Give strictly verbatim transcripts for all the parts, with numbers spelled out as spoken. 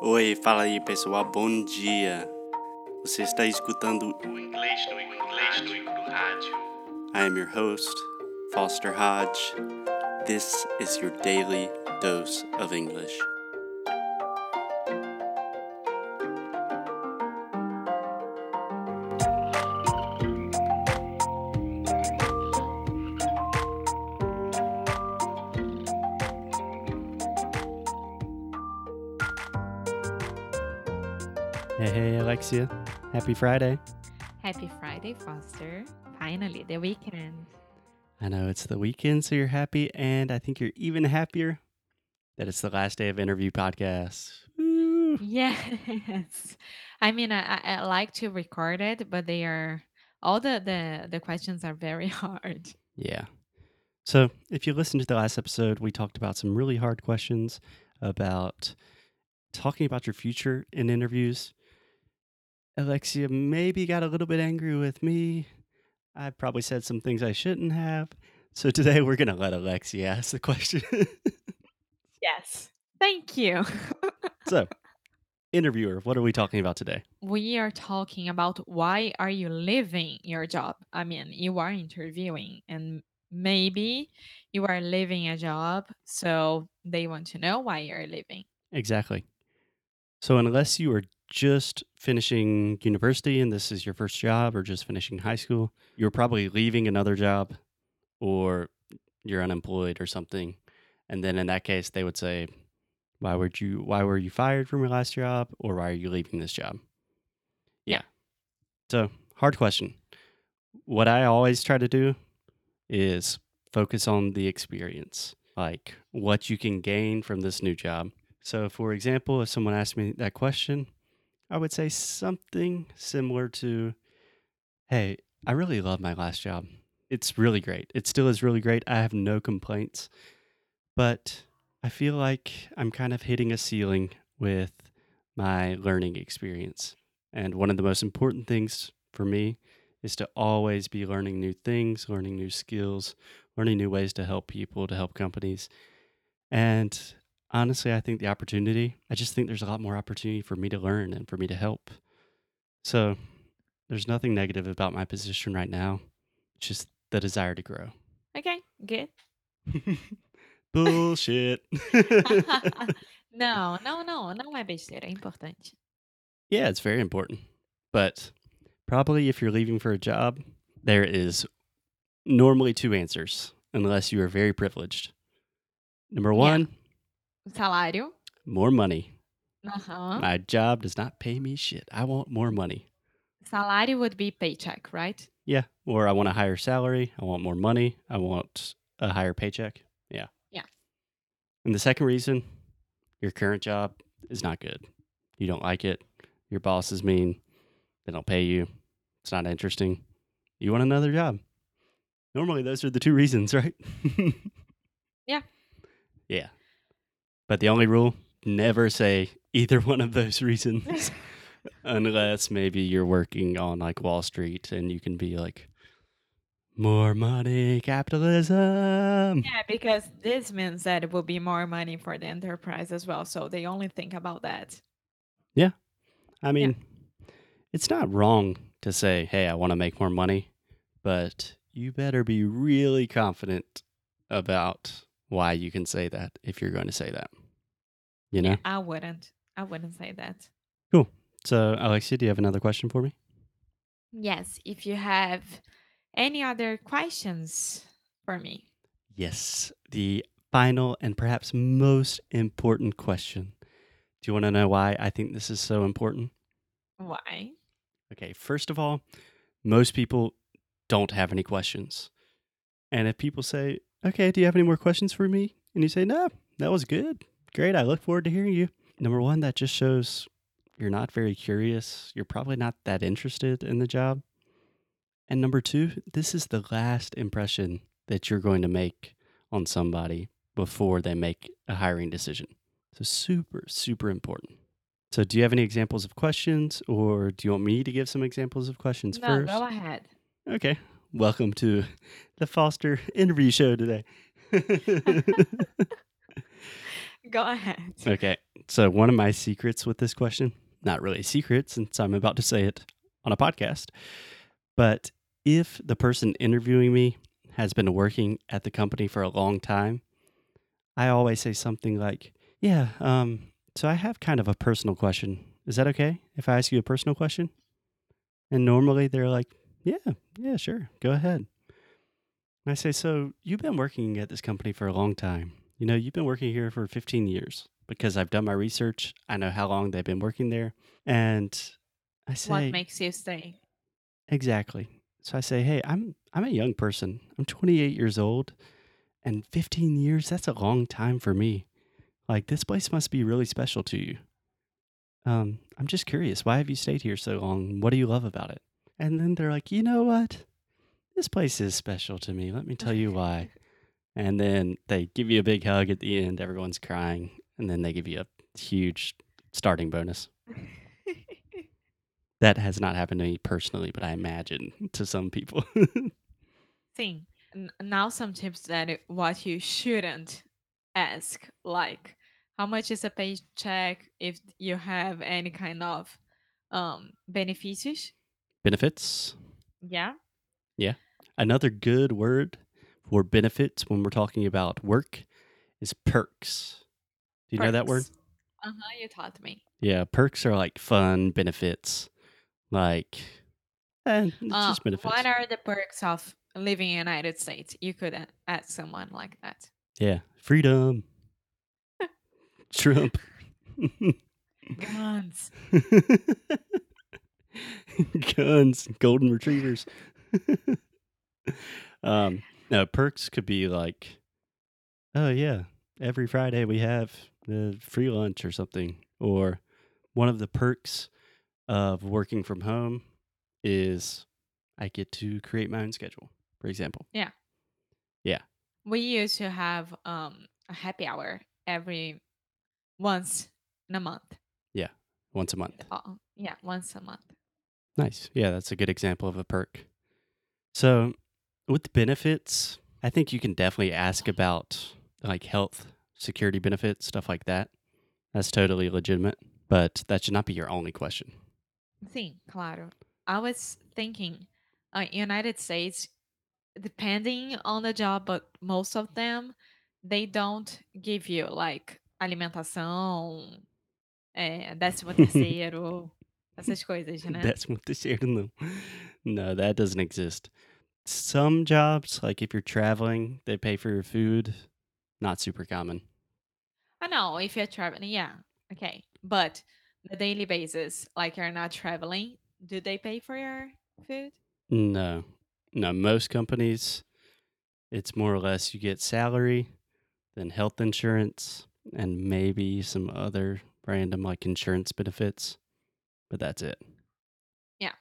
Oi, fala aí pessoal, bom dia. Você está escutando o Inglês no Inglês no Rádio. I am your host, Foster Hodge. This is your daily dose of English. Hey, hey, Alexia. Happy Friday. Happy Friday, Foster. Finally, the weekend. I know it's the weekend, so you're happy, and I think you're even happier that it's the last day of interview podcasts. Woo! Yes. I mean, I, I I like to record it, but they are all the, the, the questions are very hard. Yeah. So, if you listened to the last episode, we talked about some really hard questions about talking about your future in interviews. Alexia maybe got a little bit angry with me. I probably said some things I shouldn't have. So, today we're going to let Alexia ask the question. Yes. Thank you. So, interviewer, what are we talking about today? We are talking about why are you leaving your job? I mean, you are interviewing and maybe you are leaving a job, so they want to know why you're leaving. Exactly. So, unless you are just finishing university and this is your first job or just finishing high school, you're probably leaving another job or you're unemployed or something. And then in that case, they would say, why would you why were you fired from your last job or why are you leaving this job? Yeah. Yeah. So, hard question. What I always try to do is focus on the experience, like what you can gain from this new job. So, for example, if someone asked me that question, I would say something similar to, hey, I really love my last job. It's really great. It still is really great. I have no complaints. But I feel like I'm kind of hitting a ceiling with my learning experience. And one of the most important things for me is to always be learning new things, learning new skills, learning new ways to help people, to help companies. And honestly, I think the opportunity, I just think there's a lot more opportunity for me to learn and for me to help. So there's nothing negative about my position right now, just the desire to grow. Okay, good. Bullshit. Não, não, não, não é besteira, é importante. Yeah, it's very important. But probably if you're leaving for a job, there is normally two answers, unless you are very privileged. Number Yeah. one, Salário. more money. Aham. My job does not pay me shit. I want more money. Salário would be paycheck, right? Yeah. Or I want a higher salary. I want more money. I want a higher paycheck. Yeah. Yeah. And the second reason, your current job is not good. You don't like it. Your boss is mean. They don't pay you. It's not interesting. You want another job. Normally, those are the two reasons, right? Yeah. Yeah. But the only rule, never say either one of those reasons. Unless maybe you're working on like Wall Street and you can be like, more money, capitalism. Yeah, because this means that it will be more money for the enterprise as well. So they only think about that. Yeah. I mean, it's not wrong to say, hey, I want to make more money, but you better be really confident about why you can say that if you're going to say that. You know? Yeah, I wouldn't. I wouldn't say that. Cool. So, Alexia, do you have another question for me? Yes, if you have any other questions for me. Yes. The final and perhaps most important question. Do you want to know why I think this is so important? Why? Okay, first of all, most people don't have any questions. And if people say, okay, do you have any more questions for me? And you say, no, that was good. Great. I look forward to hearing you. Number one, that just shows you're not very curious. You're probably not that interested in the job. And number two, this is the last impression that you're going to make on somebody before they make a hiring decision. So super, super important. So do you have any examples of questions or do you want me to give some examples of questions No, first? go ahead. Okay. Welcome to the Foster interview show today. Go ahead. Okay. So, one of my secrets with this question, not really a secret since I'm about to say it on a podcast, but if the person interviewing me has been working at the company for a long time, I always say something like, yeah, um, so I have kind of a personal question. Is that okay if I ask you a personal question? And normally they're like, yeah, yeah, sure, go ahead. And I say, so you've been working at this company for a long time. You know, you've been working here for fifteen years because I've done my research. I know how long they've been working there. And I What say, makes you stay? exactly. So I say, hey, I'm I'm a young person. I'm twenty-eight years old, and fifteen years, that's a long time for me. Like, this place must be really special to you. Um, I'm just curious, why have you stayed here so long? What do you love about it? And then they're like, you know what? This place is special to me. Let me tell you why. And then they give you a big hug at the end. Everyone's crying. And then they give you a huge starting bonus. That has not happened to me personally, but I imagine to some people. Sim. N- now some tips that it- what you shouldn't ask, like how much is a paycheck if you have any kind of um benefícios. Benefits. Yeah. Yeah. Another good word for benefits when we're talking about work is perks. Do you know that word? Perks. Uh-huh, you taught me. Yeah, perks are like fun benefits. Like, and it's Uh, just benefits. what are the perks of living in the United States? You could a- ask someone like that. Yeah, freedom, Trump, Guns. guns, golden retrievers. um, no, perks could be like, oh yeah, every Friday we have the free lunch or something. Or one of the perks of working from home is I get to create my own schedule, for example. Yeah. Yeah. We used to have um a happy hour every once in a month. Yeah, once a month. Uh, yeah, once a month. Nice. Yeah, that's a good example of a perk. So, with benefits, I think you can definitely ask about like health, security benefits, stuff like that. That's totally legitimate, but that should not be your only question. Sim, claro. I was thinking, uh, United States, depending on the job, but most of them, they don't give you like alimentação, é, décimo terceiro, essas coisas, né? That's what the share no. No, that doesn't exist. Some jobs, like if you're traveling, they pay for your food. Not super common. I know if you're traveling, yeah, okay. But the daily basis, like you're not traveling, do they pay for your food? No. No, most companies, it's more or less you get salary, then health insurance, and maybe some other random like insurance benefits, but that's it. Yeah.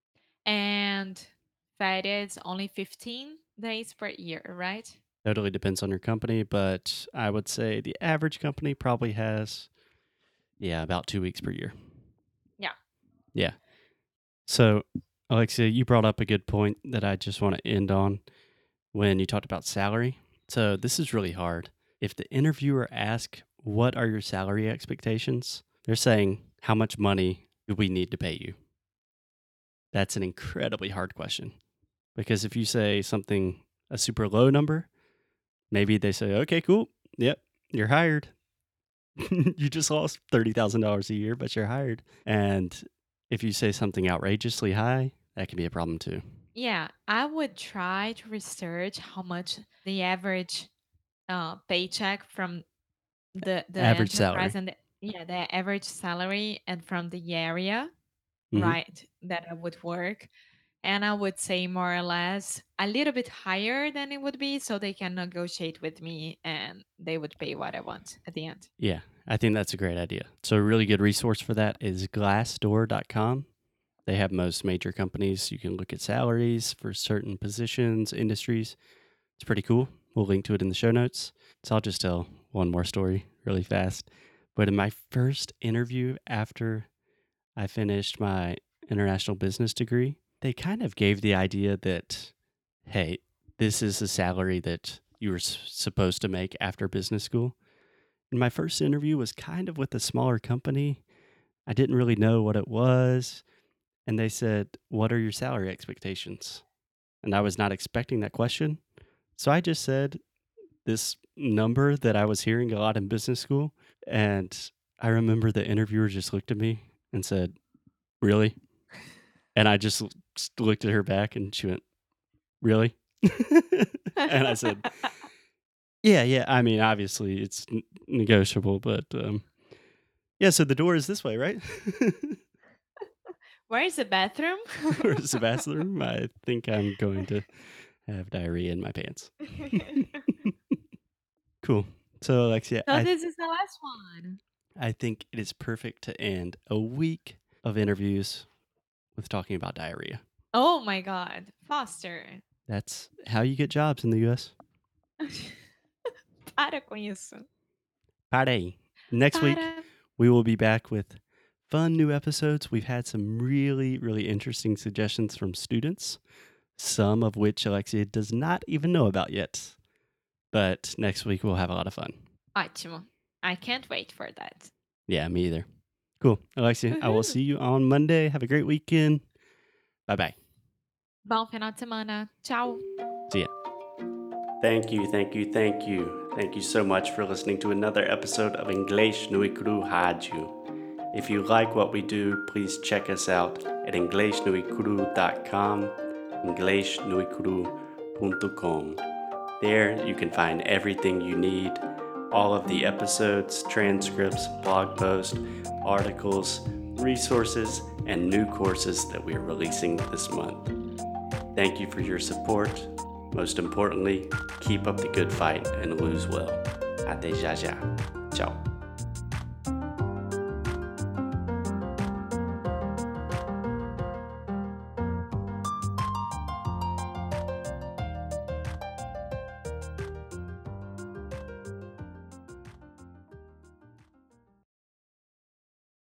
And that is only fifteen days per year, right? Totally depends on your company, but I would say the average company probably has, yeah, about two weeks per year. Yeah. Yeah. So, Alexia, you brought up a good point that I just want to end on when you talked about salary. So, this is really hard. If the interviewer asks, what are your salary expectations? They're saying, how much money do we need to pay you? That's an incredibly hard question. Because if you say something, a super low number, maybe they say, okay, cool. Yep, you're hired. You just lost thirty thousand dollars a year, but you're hired. And if you say something outrageously high, that can be a problem too. Yeah, I would try to research how much the average uh, paycheck from the the Average enterprise salary. and the, yeah, the average salary and from the area, Mm-hmm. right, that I would work. And I would say more or less a little bit higher than it would be so they can negotiate with me and they would pay what I want at the end. Yeah, I think that's a great idea. So, a really good resource for that is glassdoor dot com. They have most major companies. You can look at salaries for certain positions, industries. It's pretty cool. We'll link to it in the show notes. So, I'll just tell one more story really fast. But in my first interview after I finished my international business degree, they kind of gave the idea that, hey, this is the salary that you were s- supposed to make after business school. My first interview was kind of with a smaller company. I didn't really know what it was. And they said, "What are your salary expectations?" And I was not expecting that question. So I just said this number that I was hearing a lot in business school. And I remember the interviewer just looked at me and said, "Really?" And I just l- s- looked at her back and she went, "Really?" And I said, "Yeah, yeah. I mean, obviously it's n- negotiable, but um, yeah, so the door is this way, right?" Where is the bathroom? Where's the bathroom? I think I'm going to have diarrhea in my pants. Cool. So, Alexia, So I, this is the last one. I think it is perfect to end a week of interviews with talking about diarrhea. Oh my God, Foster. That's how you get jobs in the U S. Para com isso. Parei. Next week, Para. we will be back with fun new episodes. We've had some really, really interesting suggestions from students, some of which Alexia does not even know about yet. But next week, we'll have a lot of fun. Ótimo. I can't wait for that. Yeah, me either. Cool. Alexia, I will see you on Monday. Have a great weekend. Bye-bye. Bom final de semana. Tchau. See ya. Thank you, thank you, thank you. Thank you so much for listening to another episode of Inglês no Icru Rádio. If you like what we do, please check us out at inglês no icru dot com, inglês no icru dot com. There you can find everything you need, all of the episodes, transcripts, blog posts, articles, resources, and new courses that we are releasing this month. Thank you for your support. Most importantly, keep up the good fight and lose well. Até já já. Ciao.